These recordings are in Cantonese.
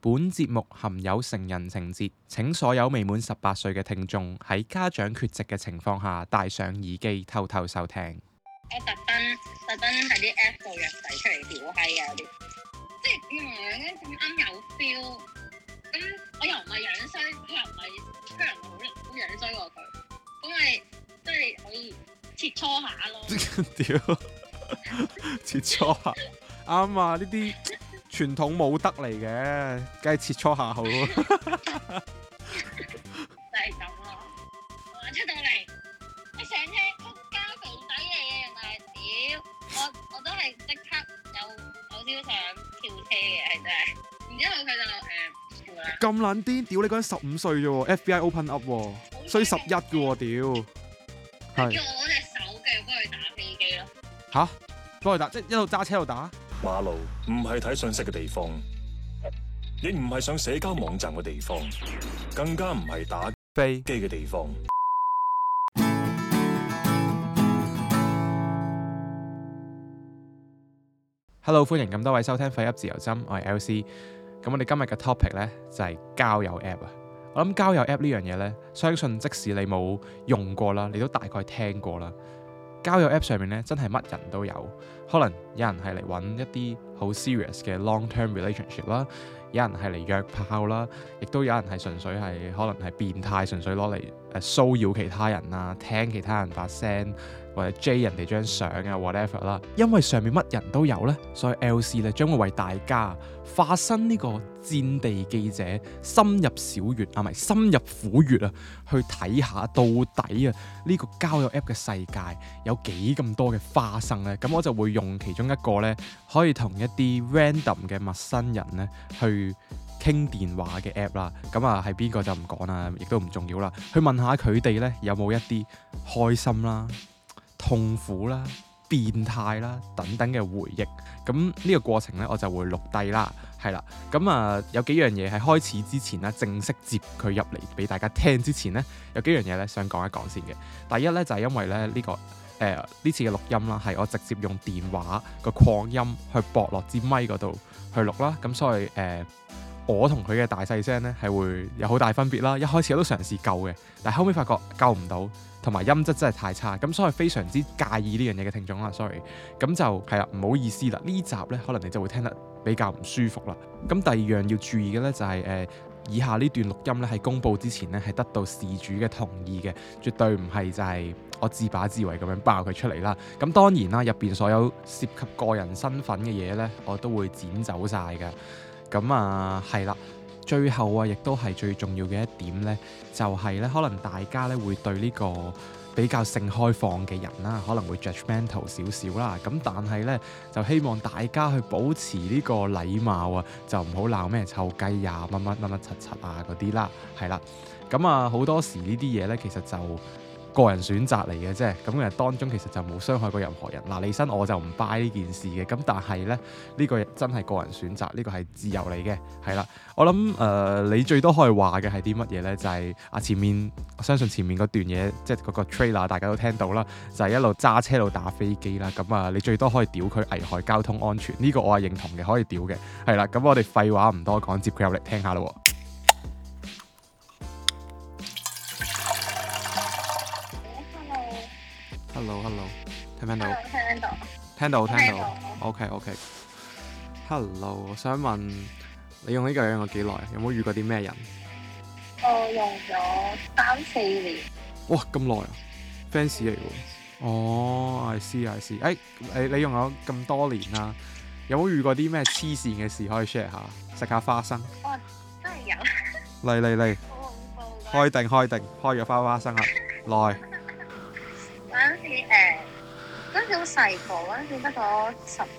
本節目含有成人情節，請所有未滿18歲嘅聽眾喺家長缺席嘅情況下戴上耳機偷偷收聽。 我特登喺啲 app 度約仔出嚟屌閪啊啲，即係樣咁啱有 feel。咁我又唔係樣衰，佢又唔係好樣衰喎佢，咁咪即係可以切磋下咯。 屌，切磋下啱啊！呢啲傳統武德嚟嘅，梗係切磋下好咯。就係咁咯。我出到嚟，你成聽仆街肥仔嚟嘅，原來屌我都係即刻有少想跳車嘅，係真係。然之後佢就咁撚癲，屌你嗰陣15歲啫喎 ，FBI open up 喎，衰11嘅喎，屌。 係。叫我攞隻手嘅幫佢打飛機咯。 吓？幫佢打，即係一路揸車一路打。 馬路唔係睇信息嘅地方，亦唔係上社交網站嘅地方，更加唔係打飛機嘅地方。 Hello， 歡迎咁多位收聽廢噏自由針，我係 LC。咁我哋今日嘅 topic 呢，就係交友 app 啊。我諗交友 app 呢樣嘢呢，相信即使你冇用過啦，你都大概聽過啦。交友 app 上面呢，真係乜人都有，可能有人係嚟揾一啲好 serious 嘅 long-term relationship 啦，有人係嚟約炮啦，亦都有人係純粹係可能係變態，純粹攞嚟騷擾其他人啊，聽其他人發聲，或者 J 人哋張相啊 whatever 啦。因為上面乜人都有呢，所以 LC 咧將會為大家化身呢個戰地記者，深入小穴啊，唔係深入虎穴啊，去睇下到底啊呢個交友 app 嘅世界有幾咁多嘅花生呢。咁我就會用其中一個呢，可以同一啲 random 嘅陌生人呢去傾電話嘅 app 啦。咁啊係邊個就唔講啦，亦都唔重要啦。去問下佢哋呢，有冇一啲開心啦、痛苦啦、變態啦等等嘅回憶。咁呢個過程呢，我就會錄低啦，係啦。咁有幾樣嘢喺開始之前呢，正式接佢入嚟俾大家聽之前呢，有幾樣嘢呢想講一講先嘅。第一呢，就係因為咧呢個呢次嘅錄音啦，係我直接用電話個擴音去駁落支咪嗰度去錄啦。咁所以我同佢嘅大細聲呢係會有好大分別啦。一開始我都嘗試救嘅，但係後尾發覺救唔到。同埋音質真係太差，咁所以非常之介意呢樣嘢嘅聽眾啦 ，sorry， 咁就係啦，唔好意思啦，呢集呢，可能你就會聽得比較唔舒服啦。咁第二樣要注意嘅呢，就係以下呢段錄音呢，喺公佈之前呢，係得到事主嘅同意嘅，絕對唔係就係我自把自為咁樣爆佢出嚟啦。咁當然啦，入邊所有涉及個人身份嘅嘢呢，我都會剪走晒㗎。咁係啦。最後啊，亦都係最重要嘅一點呢，就係咧，可能大家咧會對呢個比較性開放嘅人啦，可能會 judgmental 少少啦。咁但係呢，就希望大家去保持呢個禮貌啊，就唔好鬧咩臭雞啊、乜乜柒柒啊嗰啲啦，係啦。咁好多時呢啲嘢呢，其實就個人選擇嚟嘅啫，咁當中其實就冇傷害過任何人。李生我就唔 buy 呢件事嘅，咁但係咧呢個真係個人選擇，呢個係自由嚟嘅，係啦。我諗你最多可以話嘅係啲乜嘢呢？就係前面，我相信前面嗰段嘢，即係嗰個 trailer 大家都聽到啦，就係一路揸車一路打飛機啦。咁你最多可以屌佢危害交通安全，呢個我係認同嘅，可以屌嘅，係啦。咁我哋廢話唔多講，接佢入嚟聽下咯。Hello， 聽唔聽到？聽到。OK。Hello， 我想問你用呢個用咗幾耐？有冇遇過啲咩人？ 我用咗3-4年。 哇，咁耐啊 ！fans 嚟喎。哦，I see。你用咗咁多年啦，有冇遇過啲咩黐線嘅事可以 share 下？食下花生。 哇，真係有。 嚟。 好恐怖㗎。 開定，開咗花生啦，來。 嗰陣時好細個，嗰陣時得個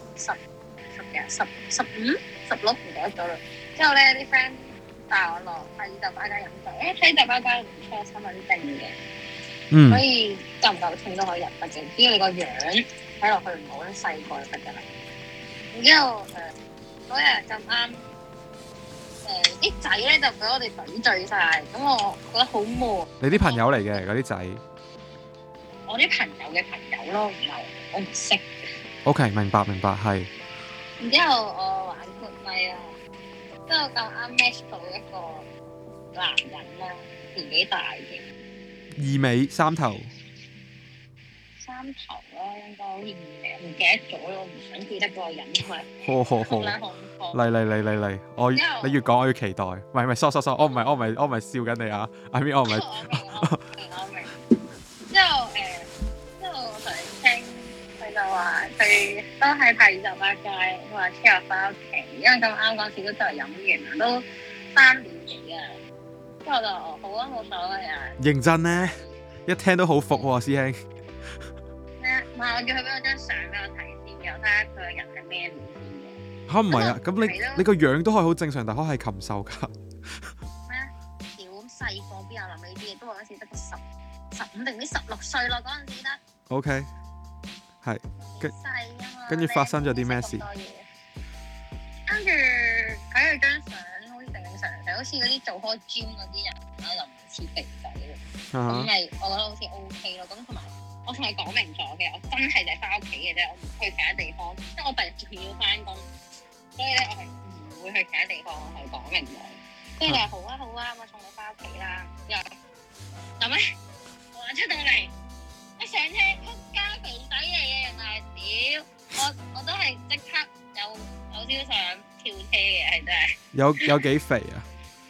15、16唔記得咗啦。之後咧啲 friend 帶我落喺酒吧間飲酒，喺酒吧間唔錯，新聞定嘅，所以夠唔夠錢都可以入得嘅，只要你個樣睇落去唔好細個就得㗎啦。然之後嗰日咁啱啲仔咧就俾我哋懟醉晒，咁我覺得好悶。 你啲朋友嚟嘅嗰啲仔？ 我啲朋友嘅朋友咯，唔係我唔識嘅。 OK， 明白，係。 然之後我玩 good night 啦，即之後咁啱 match 到一個男人啦，年紀大嘅， 二尾三頭。 三頭啦，應該好似唔記得咗咯，我唔想記得嗰個人，因為好，嚟，你越講我越期待。唔係，sorry，我唔係笑緊你啊 ，I mean 我唔係。 我明。之後我同你傾，佢就話佢都係拍28街，佢話車我翻屋企，因為咁啱嗰時都就係飲完啦，都3點幾啊。之後我就好啊，冇所謂啊。 認真咧，一聽都好服喎，師兄。 唔係，我叫佢俾我張相俾我睇先，然後睇下佢個人係咩料先嘅。 嚇唔係啊？咁你個樣都可以好正常，但可係禽獸㗎。 咩啊？屌細個邊有諗呢啲嘢？都話嗰時得個15定唔知16歲咯，嗰陣時得。 OK， 係。 細啊嘛。 跟住發生咗啲咩事？ 跟住睇佢張相，好似正常，好似嗰啲做開 gym 嗰啲人啦，就唔似肥仔嘅。咁咪我覺得好似 OK 咯。咁同埋。我同佢講明咗嘅，我真係就係翻屋企嘅啫，我唔去其他地方，因為我第日仲要翻工，所以咧我係唔會去其他地方，我係講明咗。跟住佢話好啊，我送你翻屋企啦。又咁咧，我出到嚟一上車，仆街肥仔嚟嘅，原來屌我都係即刻有少想跳車嘅，係真係。 有幾肥啊？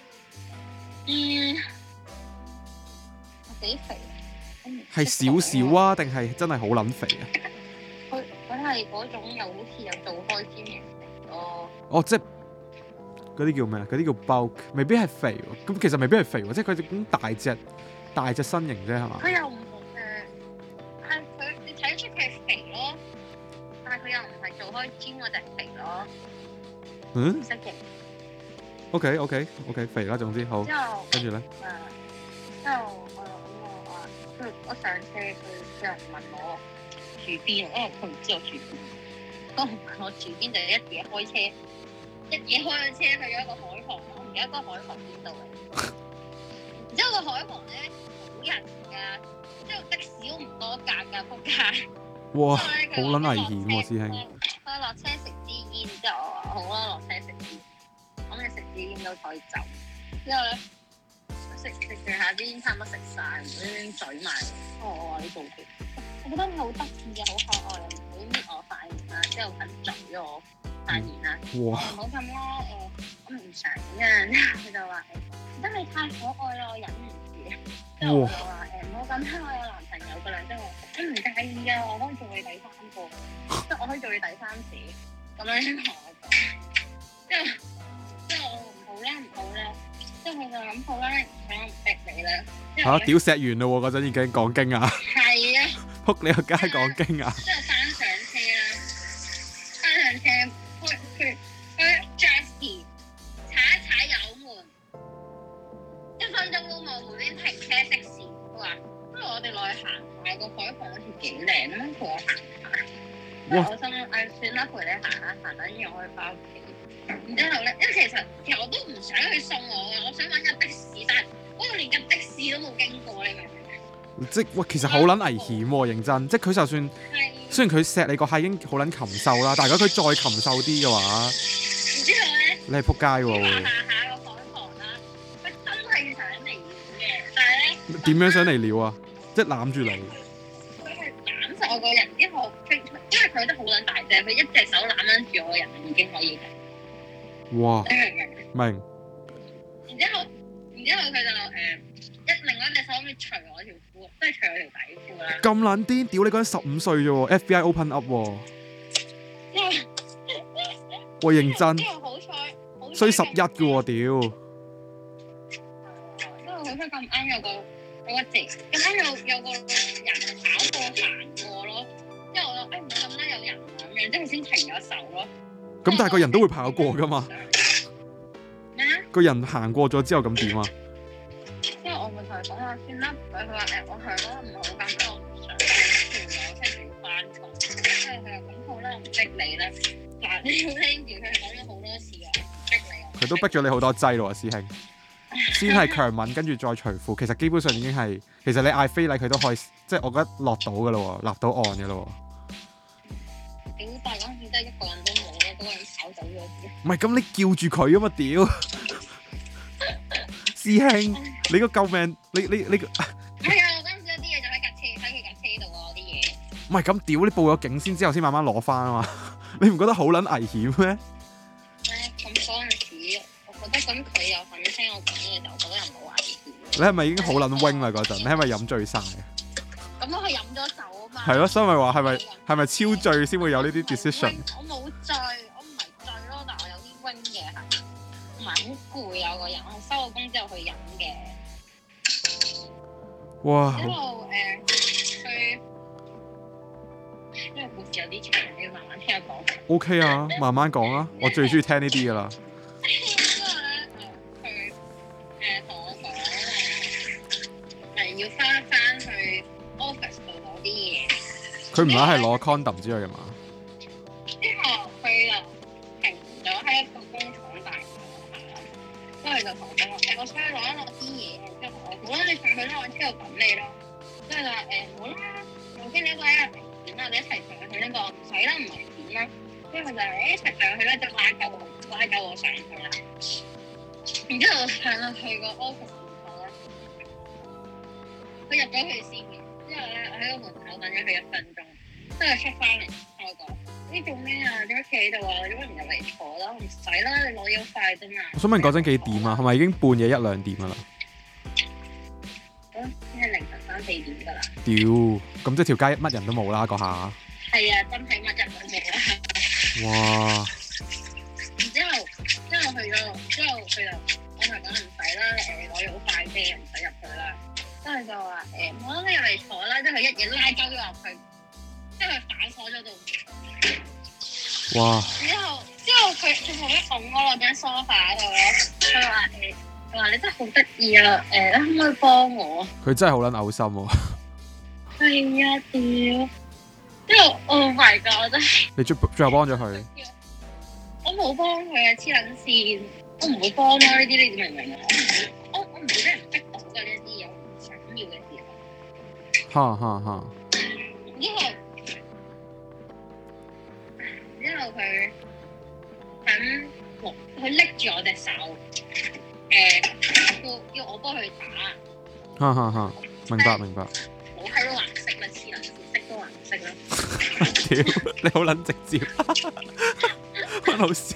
幾肥？ 係少少啊，定係真係好撚肥啊？ 佢係嗰種又好似有做開 gym 嘅咯。哦， 即係嗰啲叫咩啊？嗰啲叫 bulk， 未必係肥喎。咁其實未必係肥喎，即係佢咁大隻身形啫，係嘛？ 佢又唔係佢，你睇得出佢係肥咯，但係佢又唔係做開 gym 嗰隻肥咯。唔識嘅。OK， 肥啦，總之好。之後跟住咧。之後我上車，佢有人問我住邊，因為佢唔知我住邊。當我住邊就一嘢開車，咗車去咗一個海旁，我唔記得嗰個海旁邊度嚟。然之後個海旁咧冇人㗎，之後的士都唔多架㗎，仆街。 哇！好撚危險喎，師兄。 佢落車食支煙，之後我話好啦，落車食煙。咁你食支煙都可以走。之後咧。食住下啲煙差唔多食曬，唔好嘴埋。我話你做嘅，我覺得你好得意嘅，好可愛，唔好搣我塊面啦，之後肯嘴我塊面啦。唔好咁啦，我唔想啊。佢就話真係太可愛啦，我忍唔住。之後我就話唔好咁啦，我有男朋友㗎啦。之後我唔介意啊，我可以做你第3個，即係我可以做你第3者。咁樣同我講。之後我唔好啦。之後佢就諗好啦，想逼你啦。 嚇！屌石完啦喎，嗰陣已經講經啊！ 係啊！ 撲你個街講經啊！ 之後翻上車啦，翻上車佢 Jasky 踩一踩油門，1分鐘都冇，無端停車熄匙。佢話不如我哋落去行下個海旁好似幾靚啦，陪我行下。我心諗算啦，陪你行下，行等於我可以翻屋企。然之後咧，因為其實我都唔想去送我嘅，我想揾架的士，但係我連架的士都冇經過，你明唔明？即係其實好撚危險喎，認真。即係佢就算雖然佢錫你個閪已經好撚禽獸啦，但係如果佢再禽獸啲嘅話， 然之後咧， 你係撲街喎。 下個海旁啦，佢真係想嚟撩嘅，但係咧點樣想嚟撩啊？即係攬住你。 佢係攬實我個人，之後因為佢都好撚大隻，佢一隻手攬緊住我個人已經可以。 哇！明。 然之後佢就另外一隻手可以除我條褲，即係除我條底褲啦。咁撚癲！屌你嗰陣15歲啫喎 ，FBI open up 喎。我認真。 之後好彩， 衰11嘅喎，屌！ 因為好彩咁啱有個字，咁啱有個人跑過行過咯。之後我就唔好咁啦，有人咁樣，即係先停咗手咯。 咁但係個人都會跑過噶嘛？ 咩啊？ 個人行過咗之後咁點啊？ 因為我咪同佢講話算啦，佢話我同佢講唔好咁，我唔想算咗，我聽住要翻工。跟住佢話咁好啦，唔逼你啦。嗱，你要聽住佢講咗好多次啊，唔逼你。佢都逼咗你好多劑咯，師兄。先係強吻，跟住再除褲，其實基本上已經係，其實你嗌非禮佢都可以，即係我覺得落到噶咯喎，立到岸噶咯喎。 屌！但係嗰陣時真係一個人都冇咯，嗰個人跑走咗。 唔係咁，你叫住佢啊嘛，屌！師兄，你個救命，你係啊！我嗰陣時有啲嘢就喺佢架車度啊，啲嘢。 唔係咁屌，你報咗警先之後先慢慢攞翻啊嘛，你唔覺得好撚危險咩？ 咁嗰陣時，我覺得咁佢又肯聽我講嘢，就我覺得又冇危險。 你係咪已經好撚 wing 啦嗰陣？你係咪飲醉晒？ 咁我係飲咗酒啊嘛。 係咯，所以咪話係咪超醉先會有呢啲 decision？ 我冇醉，我唔係醉咯，但係我有啲 wing 嘅係，同埋好攰啊個人。我收咗工之後去飲嘅。 哇！ 之後去呢個故事有啲長，你要慢慢聽我講。 OK 啊，慢慢講啊，我最中意聽呢啲噶啦。 之後咧，佢同我講要翻去 office 度攞啲嘢。 佢唔係攞 condom 之類嘅嘛？ 之後佢就停咗喺一個工廠大廈啦，跟住就同我講話我想去攞一攞啲嘢。之後我好啦，你上去啦，我車度等你咯。跟住就話好啦，頭先你一個喺度點啊？我哋一齊上去呢個唔使啦，唔係點啦。跟住佢就一齊上去啦，就拉夠我上去啦。然之後我上到去個 office 門口咧，佢入咗去先嘅。之後咧，我喺個門口等咗佢1分鐘，之後出翻嚟同我講：你做咩啊？點解企喺度啊？點解唔入嚟坐啦？唔使啦，你攞嘢好快啫嘛。 我想問嗰陣幾點啊？係咪已經半夜1、2點噶啦？ 應該凌晨3、4點㗎啦。 屌，咁即係條街乜人都冇啦嗰下。係啊，真係乜人都冇啦。 哇！ 之後去咗，之後佢就我同佢講唔使啦，攞嘢好快啫，唔使入去啦。跟住就話冇啦，你入嚟坐啦，即係佢一嘢拉鳩咗入去，即係佢反鎖咗度。 哇！ 之後佢後尾拱我落張 sofa 度咯，佢話你真係好得意啊！你可唔可以幫我？ 佢真係好撚嘔心喎。 係啊，屌！之後 Oh my God， 我真係你最後幫咗佢？ 我冇幫佢啊！黐撚線，我唔會幫咯呢啲，你明唔明啊？我唔會俾人逼到嘅呢啲嘢，我唔想要嘅時候。 哈！ 之後佢佢拎住我隻手，要我幫佢打。 哈！明白。 冇喺度顏色啦，黐撚線，色都顏色啦。 屌，你好撚直接，好笑。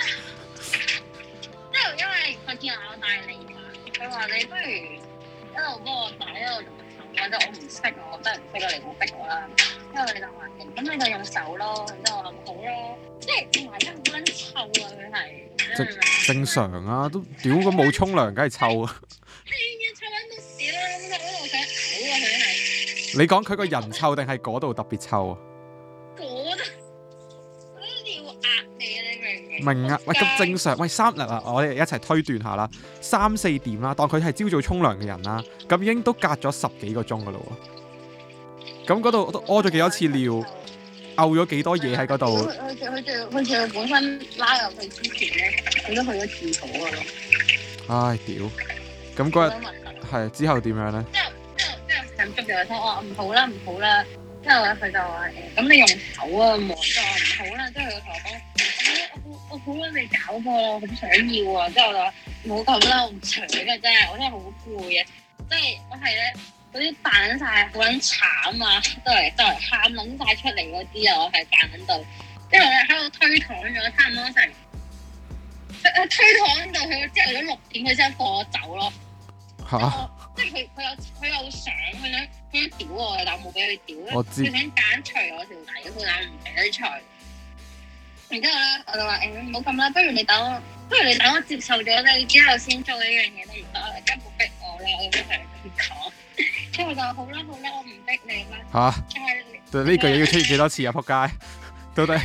之後因為佢見我大利嘛，佢話你不如一路幫我打一路同佢手，我唔識，我真係唔識啊，你唔好逼我啦。之後你就話咁你就用手咯，然之後我話好咯，即係同埋真係好撚臭啊！佢係正常啊，都屌咁冇沖涼，梗係臭啊！ 係啊，臭撚到屎啦！咁我想嘔啊！佢係你講佢個人臭定係嗰度特別臭啊？ 嗰度嗰啲要壓你啊！你明唔明？ 明啊！喂，咁正常。喂我哋一齊推斷下啦，3、4點啦，當佢係朝早沖涼嘅人啦，咁已經都隔咗10幾個鐘噶啦喎。咁嗰度都屙咗幾多次尿，嘔咗幾多嘢喺嗰度。 佢仲本身拉入去之前咧，佢都去咗廁所噶咯。 唉，屌！咁嗰日係之後點樣咧？ 之後咁捉住佢，我話唔好啦。之後佢就話咁你用手啊望，就話唔好啦。之後佢同我講，我好撚未搞過，我好想要啊。之後我就話冇咁啦，我唔搶嘅啫，我真係好攰啊。即係我係咧。嗰啲扮晒好撚慘啊，都係喊撚晒出嚟嗰啲啊，我係扮撚到，之後咧喺度推搪咗差唔多成，推搪到佢朝頭早6點，佢先放我走咯。嚇！即係佢有想，佢想屌我嘅，但我冇俾佢屌。 我知。佢想揀除我條底褲，但唔俾佢除。然之後咧，我就話唔好咁啦，不如你等我接受咗你之後先做呢樣嘢都唔得，你根本逼我啦，我咁樣咁講。之後就好啦，我唔逼你啦。嚇！ 對呢句嘢要出現幾多次啊？仆街！到底？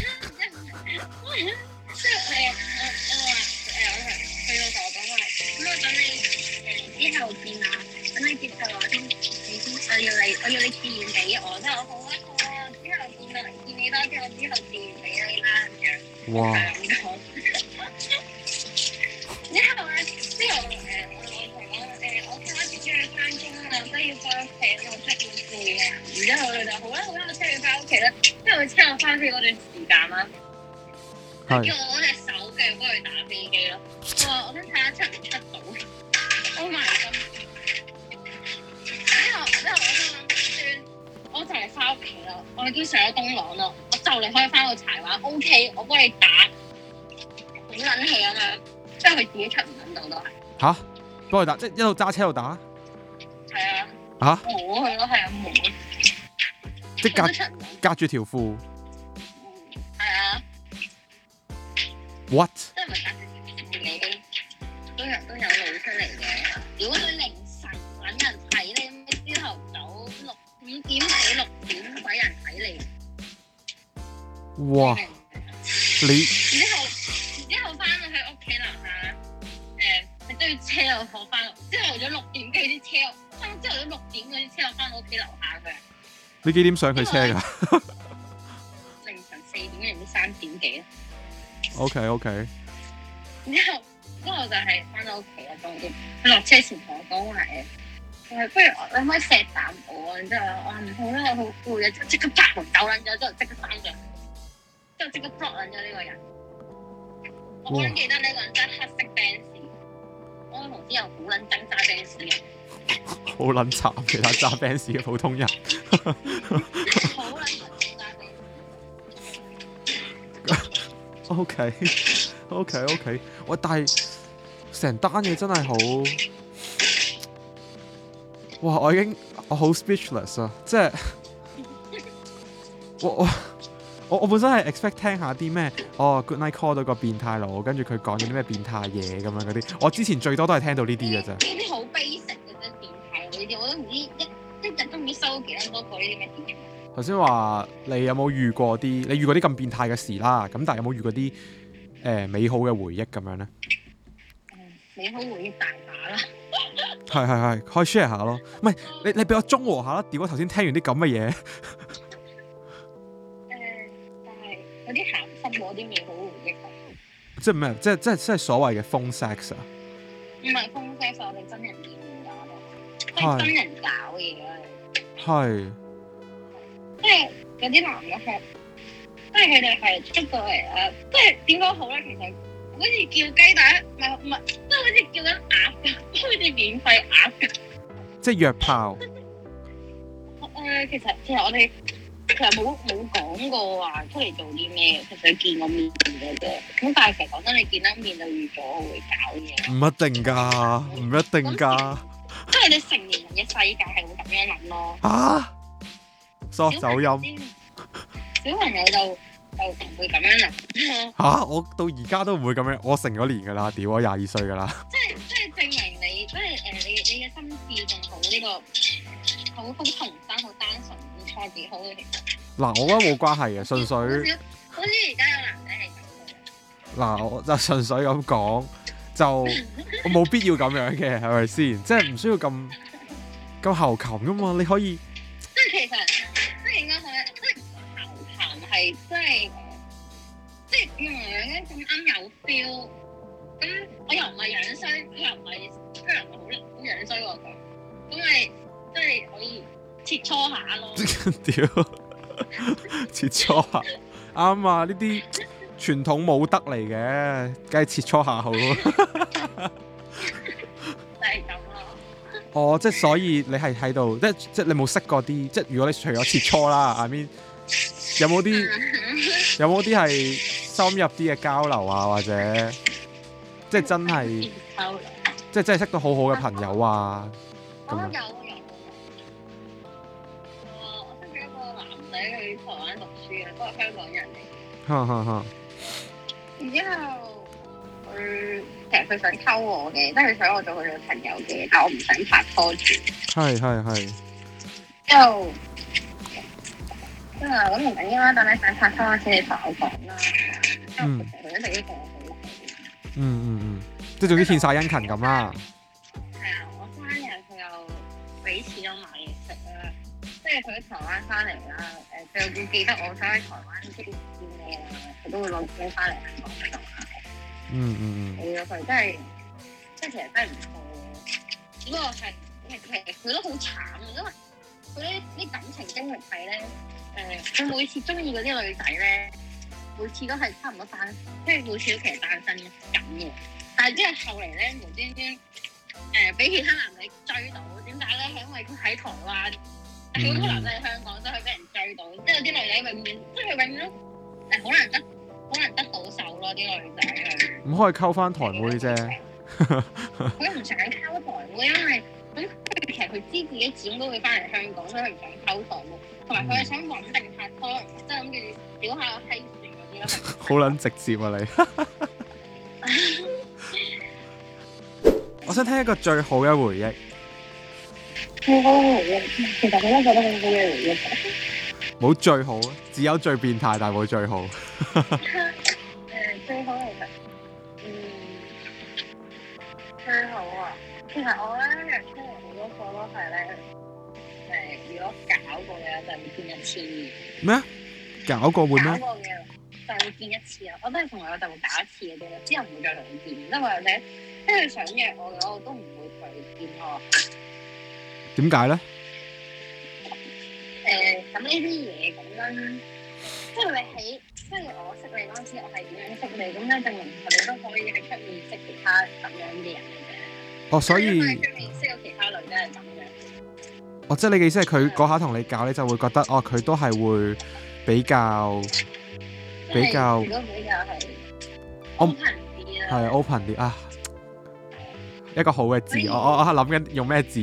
即係我去到同我講話，咁我等你之後見啊，等你接受我先，我要你自然俾我。之後好啊，之後見你多啲，我之後自然俾你啦咁樣。哇！我今晚自己去翻工啦，所以翻屋企我真係好攰啊。然之後佢就好啦，我車你翻屋企啦。之後佢車我翻屋企嗰段時間啦，佢叫我攞隻手嘅幫佢打飛機咯。我話我想睇下出唔出到。Oh my god！ 之後我心諗算，我就嚟翻屋企啦，我已經上咗東朗啦，我就嚟可以翻到柴灣。OK， 我幫你打，好撚氣咁樣。之後佢自己出唔撚到都係。嚇？ 幫佢打，即係一路揸車一路打？ 係啊。 嚇？ 摸佢咯，係啊摸。 即係隔住條褲。 係啊。 What？ 即係咪隔住條褲已經都有露出嚟嘅？如果佢凌晨揾人睇你，朝頭早5點幾6點鬼人睇你。 哇！你然之後翻到去屋企樓下，你都要車我翻。朝頭早6點幾啲車，朝頭早6點嗰啲車我翻到屋企樓下嘅。 你幾點上佢車㗎？ 凌晨4點定3點幾啊 ？OK。 之後就係翻到屋企啦，終於佢落車前同我講話誒，不如你可以錫啖我啊？然之後我話唔好啦，我好攰啊，即刻拍門走撚咗，之後即刻翻上，之後即刻捉撚咗呢個人。我好記得呢個人真係黑色 Benz，我個同事又好撚憎揸 Benz 嘅。 好撚慘，其他揸 Benz 嘅普通人。 好撚憎揸 Benz。OK。喂，但係成單嘢真係好，哇！我好 speechless 啊，即係我本身係 expect 聽下啲咩Good night call 到個變態佬，跟住佢講咗啲咩變態嘢咁樣嗰啲，我之前最多都係聽到呢啲嘅啫。 呢啲好 basic 嘅啫，變態呢啲我都唔知一日都唔知收幾多個呢啲咩電話。頭先話你有冇遇過啲？你遇過啲咁變態嘅事啦，咁但係有冇遇過啲美好嘅回憶咁樣咧？ 美好回憶大把啦。 係，可以 share 下咯。唔係你俾我中和下啦。屌我頭先聽完啲咁嘅嘢。 但係有啲鹹濕嗰啲美好回憶。 即係咩？即係所謂嘅 phone sex 啊？ 唔係 phone sex，我哋真人見面㗎咯，即係真人搞嘢啊！係。即係有啲男嘅係，即係佢哋係出過嚟啦。即係點講好咧？其實好似叫雞蛋，唔係，即係好似叫緊鴨㗎，好似免費鴨㗎。即係約炮。 其實我哋其實冇講過話出嚟做啲咩，其實見過面嘅啫。咁但係其實講真，你見得面就預咗會搞嘢。唔一定㗎。即係你成年人嘅世界係會咁樣諗咯。嚇！ 走音。 小朋友就唔會咁樣諗。 我到而家都唔會咁樣，我成咗年㗎啦，屌我22歲㗎啦。 即係證明你，即係你嘅心智仲好呢個好童真、好單純，唔錯幾好嘅其實。嗱， 我覺得冇關係嘅，純粹。 好似而家有男仔係咁嘅。 嗱，我就純粹咁講，就我冇必要咁樣嘅，係咪先？即係唔需要咁猴擒㗎嘛，你可以。 即係其實，即係應該講咧，即係猴擒係即係點樣咧？咁啱有 feel，咁我又唔係樣衰，佢又唔係好樣衰喎咁咪即係可以切磋下咯。 屌，切磋下啱啊！呢啲傳統武德嚟嘅，梗係切磋下好咯。 就係咁咯。 即係所以你係喺度，即係你冇識過啲，即係如果你除咗切磋啦，I mean，有冇啲係深入啲嘅交流啊，或者即係真係，即係真係識到好好嘅朋友啊？ 有。我識咗一個男仔去台灣讀書啊，都係香港人嚟。然之後其實佢想溝我嘅，即係佢想我做佢女朋友嘅，但我唔想拍拖住。係。之後咁唔緊要啦，等你想拍拖先，你同我講啦。因為其實佢一直都同我好好。 即係總之獻晒殷勤咁啦。 係啊，我生日佢又俾錢我買嘢食啦，即係佢喺台灣翻嚟啦，佢又會記得我想喺台灣經歷啲咩啦，佢都會攞錢翻嚟香港嗰度買。係啊，佢真係，即係其實真係唔錯嘅。只不過係其實佢都好慘啊，因為佢啲感情經歷係咧，佢每次中意嗰啲女仔咧， 每次都係差唔多單，即係每次都其實單身緊嘅。但係之後後嚟咧，無端端俾其他男仔追到，點解咧？係因為佢喺台灣，好多男仔喺香港，所以佢俾人追到。即係有啲女仔永遠，即係佢永遠都好難得到手咯，啲女仔係。唔可以溝翻台妹啫。 佢唔想溝台妹，因為咁其實佢知自己始終都會翻嚟香港，所以佢唔想溝台妹，同埋佢係想穩定拍拖，即係諗住屌下個閪算嗰啲咯。好撚直接啊你！我想聽一個最好嘅回憶。 最好嘅回憶，其實我都覺得好好嘅回憶。 冇最好，只有最變態，但係冇最好。 最好其實，最好啊！其實我咧約出嚟好多個都係咧，如果搞過嘅就會見一次。咩？ 搞過會咩？ 搞過嘅就會見一次啊！我都係同我老豆會搞一次嘅啫，之後唔會再同佢見。因為或者即係佢想約我嘅話，我都唔會同佢見咯。 點解咧？ 咁呢啲嘢咁樣，即係你喺，即係我識你嗰陣時，我係點樣識你？咁咧證明我哋都可以喺出面識其他咁樣嘅人嘅。 哦，所以喺出面識到其他女仔係咁樣。 哦，即係你嘅意思係佢嗰下同你搞，你就會覺得哦，佢都係會比較如果比較係 open 啲啦。 係 open 啲啊！一個好嘅字，我係諗緊用咩字。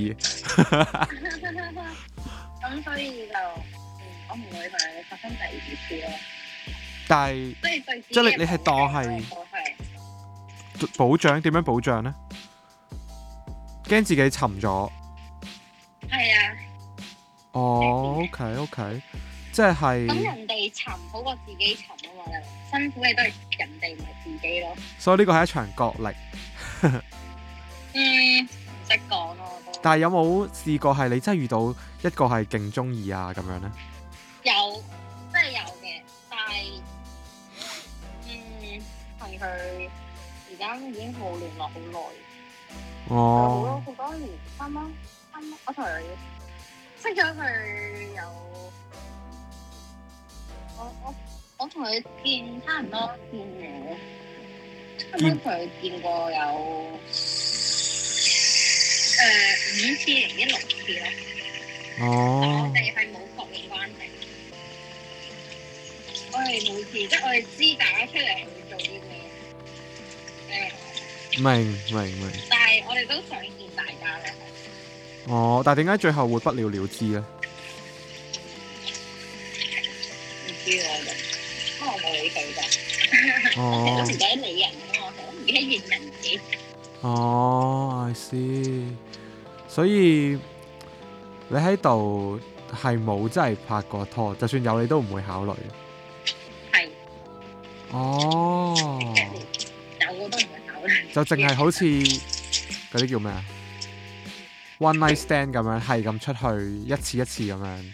咁所以就我唔會同你發生第二次咯。 但係即係你係當係保障，點樣保障咧？驚自己沉咗。係啊。哦 ，OK， 即係。 咁人哋沉好過自己沉啊嘛，辛苦嘅都係人哋唔係自己咯。 所以呢個係一場角力。 唔識講咯。 但係有冇試過係你真係遇到一個係勁中意啊咁樣咧？ 有，真係有嘅，但係同佢而家已經冇聯絡好耐。 哦。 好多年，啱啱我同佢識咗佢有，我同佢見差唔多同佢見過有5次定6次咯。 哦。 我哋係冇確認關係。我哋每次即係我哋知大家出嚟係會做啲咩。 明。 但係我哋都想見大家咧。 哦，但係點解最後會不了了之咧？ 唔知我就，因為我冇理佢咋。我成日都唔記得理人㗎嘛，我成日都唔記得認人嘅。 哦 I see。所以你喺度係冇真係拍過拖，就算有你都唔會考慮。係。哦。 有我都唔會考慮。 就淨係好似嗰啲叫咩啊？ One night stand 咁樣，係咁出去一次一次咁樣。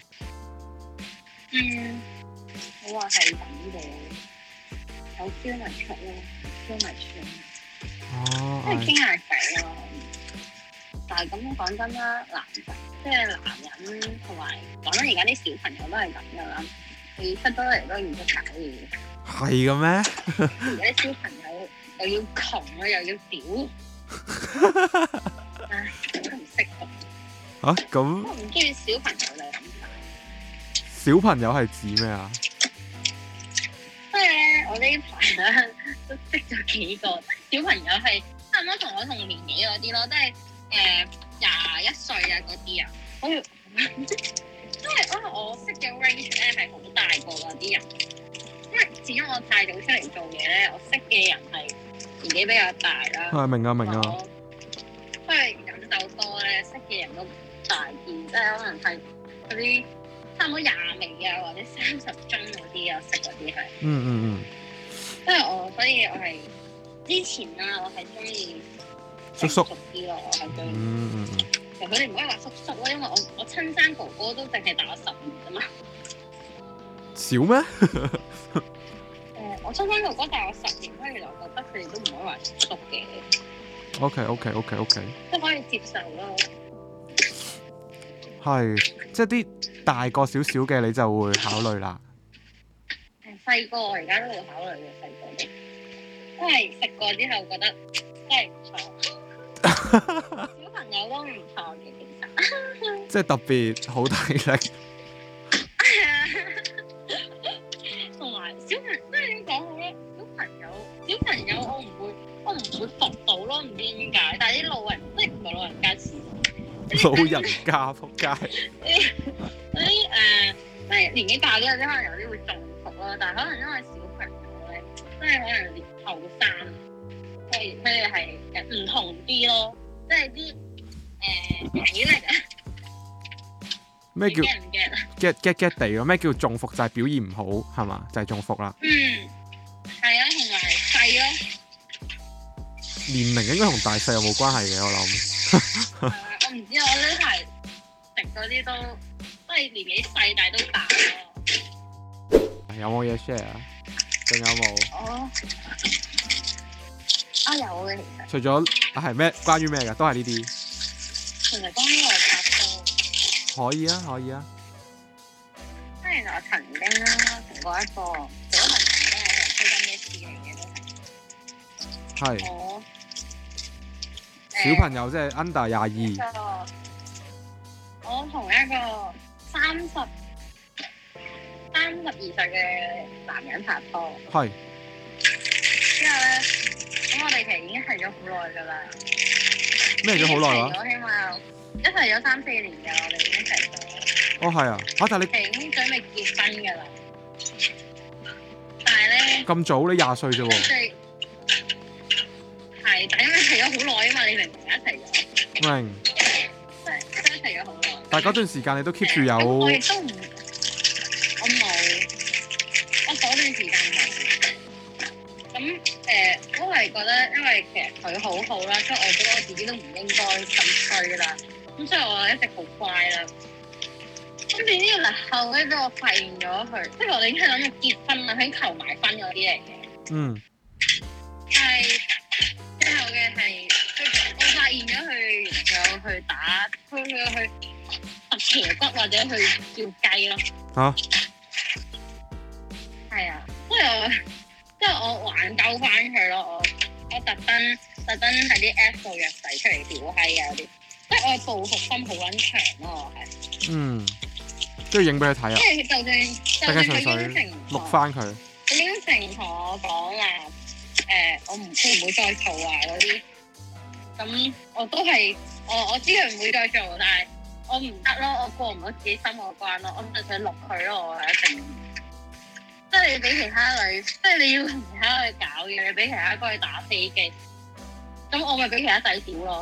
我話係咁嘅，有 feel 咪出咯 ，feel 咪出。哦。即係傾下偈咯。但係咁講真啦，男人同埋講緊而家啲小朋友都係咁噶啦，你出咗嚟都唔識搞嘢。 係嘅咩？ 而家啲小朋友又要窮啊，又要屌。唉，都唔識讀。 咁。 我唔中意小朋友就咁大。 小朋友係指咩啊？ 即係咧，我呢排咧都識咗幾個小朋友係差唔多同我同年紀嗰啲咯，即係21歲啊嗰啲啊，好似因為我識嘅 range 咧係好大個嗰啲人，因為始終我太早出嚟做嘢咧，我識嘅人係年紀比較大啦。係明啊。因為飲酒多咧，識嘅人都大件，即係可能係嗰啲差唔多20尾啊，或者30中嗰啲啊，識嗰啲係。即係所以我係之前啦，我係中意叔啲咯，我係中意。其實佢哋唔可以話叔叔咯，因為我親生哥哥都淨係大我10年啫嘛。少咩？我親生哥哥大我10年，所以我覺得佢哋都唔可以話叔叔嘅。OK， 即係可以接受咯。係，即係啲大個少少嘅你就會考慮啦。 細個我而家都會考慮嘅，細個都，因為食過之後覺得真係唔錯。小朋友都唔錯嘅，其實。 即係特別好體力。 係啊，同埋小朋友，即係點講好咧？小朋友我唔會服到咯，唔知點解。但係啲老人即係唔係老人家似。 老人家仆街。 嗰啲即係年紀大啲嗰啲，可能有啲會中伏啦。但係可能因為小朋友咧，即係可能後生，佢哋係唔同啲咯，即係啲體力啊。 咩叫 get 地咯？咩叫中伏？就係表現唔好係嘛？就係中伏啦。 係啊，同埋細咯。 年齡應該同大細有冇關係嘅，我諗。 我唔知，我呢排食嗰啲都係年紀細，但係都大咯。 有冇嘢 share 啊？仲有冇？ 有嘅其實。 除咗係咩？關於咩㗎？都係呢啲。 其實關於我拍拖。 可以啊，可以啊。 即係我曾經啦，同過一個小朋友咧，係推緊咩事嚟嘅都係。係。 小朋友即係 under 22。 我同一個32歲嘅男人拍拖。係。之後咧，咁我哋其實已經係咗好耐㗎啦。 咩咗好耐啊？ 我起碼一齊咗3-4年㗎，我哋已經一齊咗。 哦，係啊！但係你已經準備結婚㗎啦。但係咧。 咁早？你20歲啫喎。 係，但因為一齊咗好耐啊嘛，你明唔明一齊咗？ 明。 即係一齊咗好耐。 但係嗰段時間你都 keep 住有。 我亦都唔，我冇，我嗰段時間冇。咁都係覺得，因為其實佢好好啦，所以我覺得我自己都唔應該咁衰啦。咁所以我一直好乖啦。咁點知嗱後尾俾我發現咗佢，即係我哋已經係諗住結婚啦，喺求埋婚嗰啲嚟嘅。但係。之後嘅係，我發現咗佢原來有去打，佢去揼斜骨或者去叫雞咯。係啊，即係我挽救翻佢咯，我特登喺啲 app 度約仔出嚟屌閪啊嗰啲，即係我報復心好撚長咯，我係。 都要影俾佢睇啊！ 即係就算佢應承錄翻佢。 佢應承同我講話。我唔會再做啊嗰啲，咁我都係我知佢唔會再做，但係我唔得咯，我過唔到自己心嗰關咯，我唔想錄佢咯，我係一定，即係你俾其他女，即係你要同其他女搞嘢，你俾其他哥去打飛機，咁我咪俾其他仔屌咯。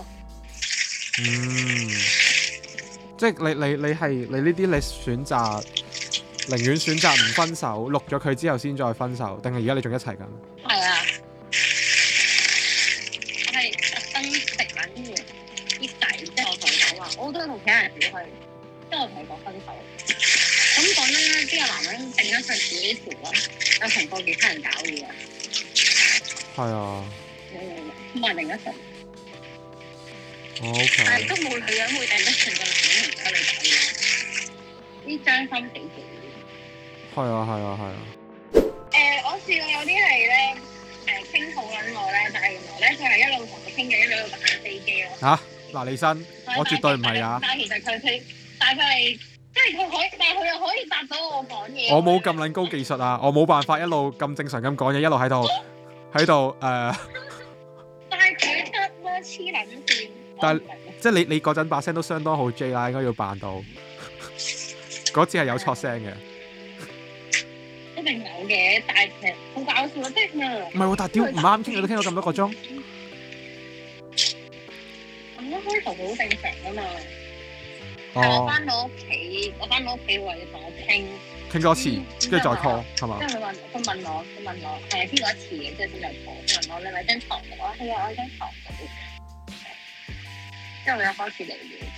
即係你係你呢啲你選擇寧願選擇唔分手，錄咗佢之後先再分手，定係而家你仲一齊緊？ 係啊。我都同其他人屌佢，即係我同佢講分手。咁講真啦，邊個男人定得上自己條啦？有同過其他人搞嘢啊？ 係啊。 冇人定得上。 OK。 但係都冇女人會定得上個男人同其他女搞嘢。啲將心比己。係啊。 我試過有啲係咧，傾好撚耐咧，但係原來咧佢係一路同佢傾偈，一路打緊飛機咯。 嚇！嗱，李生，我絕對唔係啊！ 但係其實佢係即係佢可以，但係佢又可以答到我講嘢。 我冇咁撚高技術啊！我冇辦法一路咁正常咁講嘢，一路喺度但係佢得咯，黐撚線。 但係即係你嗰陣把聲都相當好 J 啦，應該要扮到嗰次係有錯聲嘅。 一定有嘅，但係其實好搞笑咯，即係唔係喎，但係屌唔啱傾，你都傾咗咁多個鐘。 咁一開頭好正常㗎嘛。但係我翻到屋企為咗同我傾多次，跟住再 call 係嘛？ 即係佢問我係傾過一次嘅，即係先再 call。佢問我你咪張床度，我係啊，我喺張床度。之後佢又開始嚟了。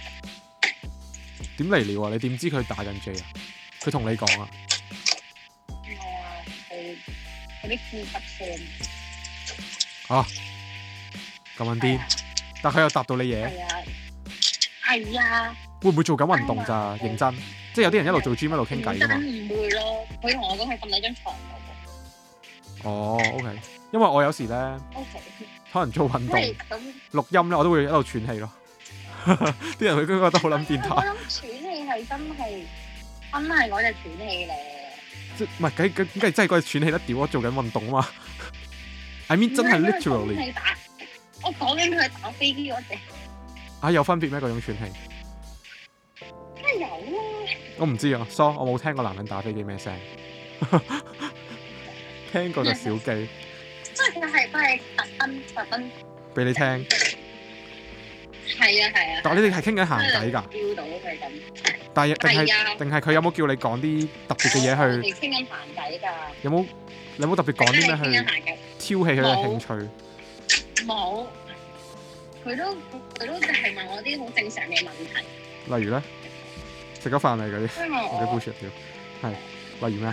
點嚟了啊？你點知佢打緊 J 啊？佢同你講啊？ 嗰啲呼吸聲。 咁樣癲，但佢又答到你嘢。 係啊。 會唔會做緊運動咋？認真，即係有啲人一路做 gym 一路傾偈㗎嘛。 唔會咯， 佢同我講佢瞓喺張床度。 哦，OK， 因為我有時咧 ，OK， 可能做運動錄音咧，我都會喺度喘氣咯。啲人佢都覺得好撚變態。 我諗喘氣係真係嗰隻喘氣咧。 即唔係梗係真係嗰隻喘氣得屌！我做緊運動啊嘛。I mean 真係 literally。 我講緊佢打飛機嗰隻。 啊，有分別咩？嗰種喘氣？ 梗係有啦。 我唔知啊 ，sorry， 我冇聽過男人打飛機咩聲。聽過就小機。 即係佢係特登俾你聽。 係啊。 但係你哋係傾緊閒偈㗎。 feel到佢咁。 但係定係佢有冇叫你講啲特別嘅嘢去？ 我哋傾緊閒偈㗎。 有冇特別講啲咩去挑起佢嘅興趣？ 冇。佢都就係問我啲好正常嘅問題。 例如咧，食咗飯未嗰啲？我嘅 bullshit 條係。例如咩？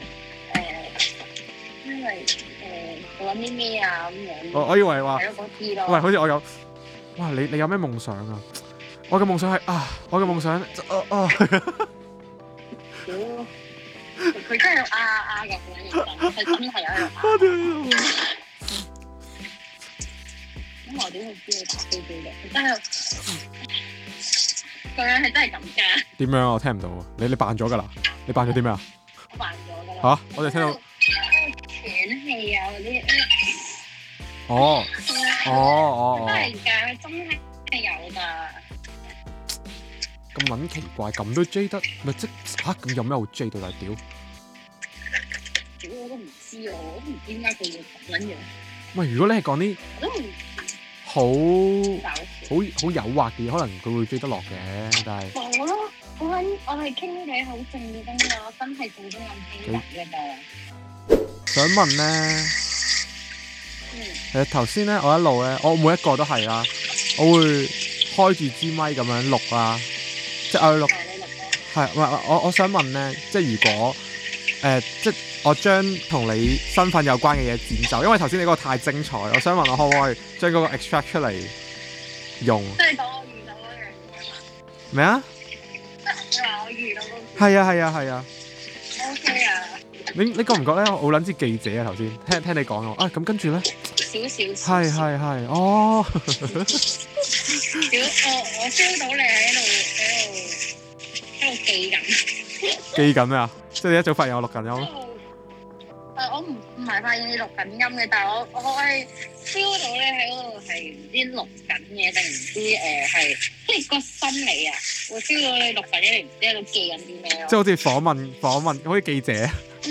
因為做緊啲咩啊咁樣。 我以為話。 係咯，嗰啲咯。 喂，好似我有。哇！你有咩夢想啊？我嘅夢想係我嘅夢想佢真係有嘅，佢真係有喺度咁我點會知你打飛機嘅？佢真係個樣係真係咁㗎。點樣啊？我聽唔到啊！你扮咗㗎啦？你扮咗啲咩啊？我扮咗㗎啦。我哋聽到喘氣啊嗰啲。真係㗎，真係有㗎。 咁撚奇怪，咁都追得咪即咁有咩好追到大屌？ 屌我都唔知啊，我都唔知點解佢會咁樣。 喂，如果你係講啲好誘惑嘅嘢，可能佢會追得落嘅，但係冇咯，我係傾偈好正經㗎，我真係做中咁輕嘅㗎。 想問咧，頭先咧，我一路咧，我每一個都係啦，我會開住支咪咁樣錄啦。即係我錄，我想問咧，即係如果即係我將同你身份有關嘅嘢剪走，因為頭先你嗰個太精彩，我想問我可唔可以將嗰個 extract 出嚟用？ 即係講我遇到嗰樣嘢嘛？ 咩啊？ 即係話我遇到嗰個？係啊。 OK 啊。你覺唔覺咧？我撚似記者啊！頭先聽你講啊，咁跟住咧？ 少。 係。哦。 我 feel 到你喺度記緊。 記緊咩啊？即係你一早發現我錄緊音。 我唔係發現你錄緊音嘅，但係我係 feel 到你喺嗰度係唔知錄緊嘢定唔知係，即係個心理啊，會 feel 到你錄緊嘢，你唔知喺度記緊啲咩咯。即係好似訪問，好似記者。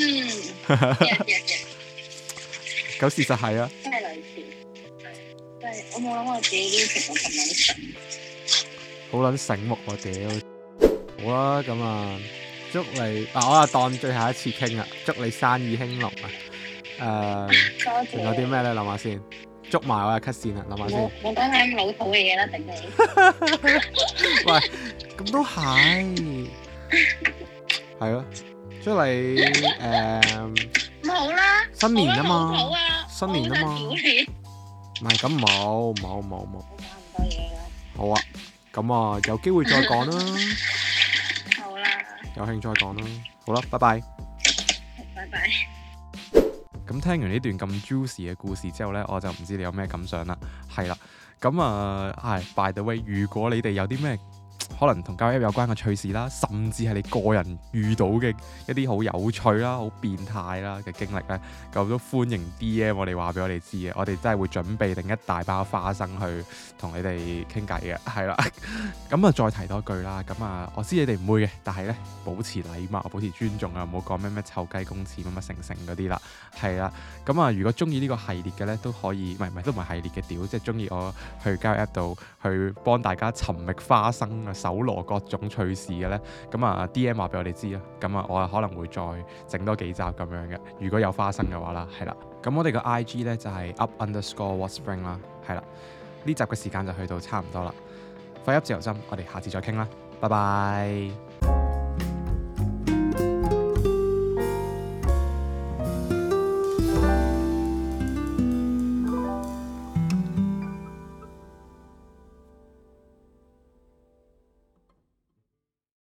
咁事實係啊。 真係類似。我冇諗過自己呢條咁撚醒， 好撚醒目喎屌！好啦，咁啊，祝你我當最後一次傾啦，祝你生意興隆啊！仲有啲咩咧？諗下先，捉埋我嘅 cut 線啦，諗下先。 冇講下咁老土嘅嘢啦，頂你！ 喂，咁都係，係咯，祝你咁好啦， 新年啊嘛，新年啊嘛。唔係咁冇。講咁多嘢啦。好啊，咁啊有機會再講啦。 好啦。 有興趣再講啦。好啦，拜拜。 拜拜。 咁聽完呢段咁 juicy 嘅故事之後呢，我就唔知你有咩感想啦。係啦，咁by the way， 如果你哋有啲咩可能同交友 App 有關嘅趣事啦，甚至係你個人遇到嘅一啲好有趣啦、好變態啦嘅經歷咧，咁都歡迎 DM 我哋話俾我哋知嘅，我哋真係會準備定一大包花生去同你哋傾偈嘅，係啦。咁啊，再提多句啦，咁啊，我知你哋唔會嘅，但係咧保持禮貌、保持尊重啊，唔好講咩臭雞公廁乜成嗰啲啦，係啦。咁啊，如果中意呢個系列嘅咧，都可以，都唔係系列嘅屌，即係中意我去交友 App 度去幫大家尋覓花生啊、搜羅各種趣事嘅咧，咁啊 DM 話俾我哋知啦，咁啊我可能會再整多幾集咁樣嘅，如果有花生嘅話啦，係啦，咁我哋個 IG 咧就係 up_whatspring 啦，係啦，呢集嘅時間就去到差唔多啦，廢噏自由針，我哋下次再傾啦，拜拜。